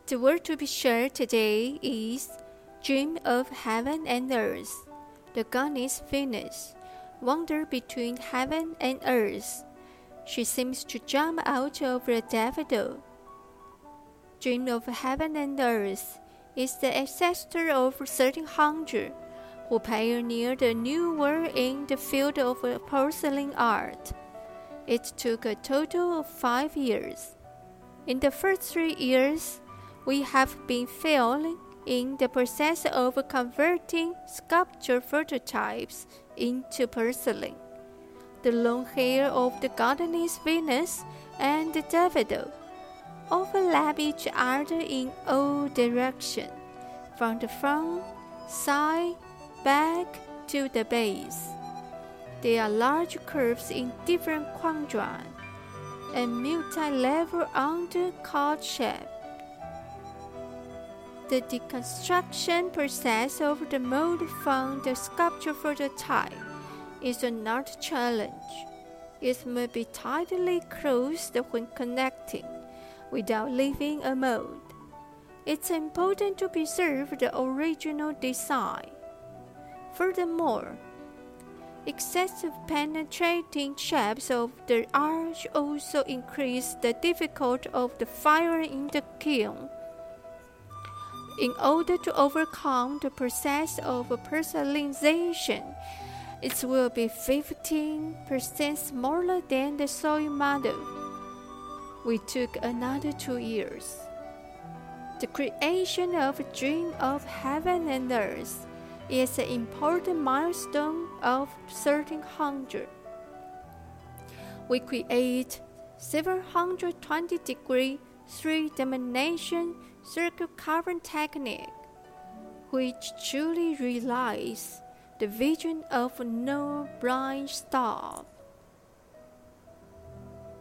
The word to be shared today is Dream of Heaven and Earth. The goddess Venus wandered between heaven and earth. She seems to jump out of a daffodil. Dream of Heaven and Earth is the ancestor of 1300, who pioneered a new world in the field of porcelain art. It took a total of 5 years. In the first 3 years, we have been failing in the process of converting sculpture prototypes into porcelain. The long hair of the goddess Venus and the daffodil overlap each other in all directions, from the front, side, back to the base. There are large curves in different quadrants and multi-level undercut shape. The deconstruction process of the mold from the sculpture prototype is an art challenge. It must be tightly closed when connecting, without leaving a mold. It's important to preserve the original design. Furthermore, excessive penetrating shapes of the arch also increase the difficulty of the fire in the kiln. In order to overcome the process of porcelainization, it will be 15% smaller than the soil model. We took another 2 years. The creation of a Dream of Heaven and Earth is an important milestone of 1300. We create 720-degree 3-dimension circle carving technique, which truly realizes the vision of no blind star.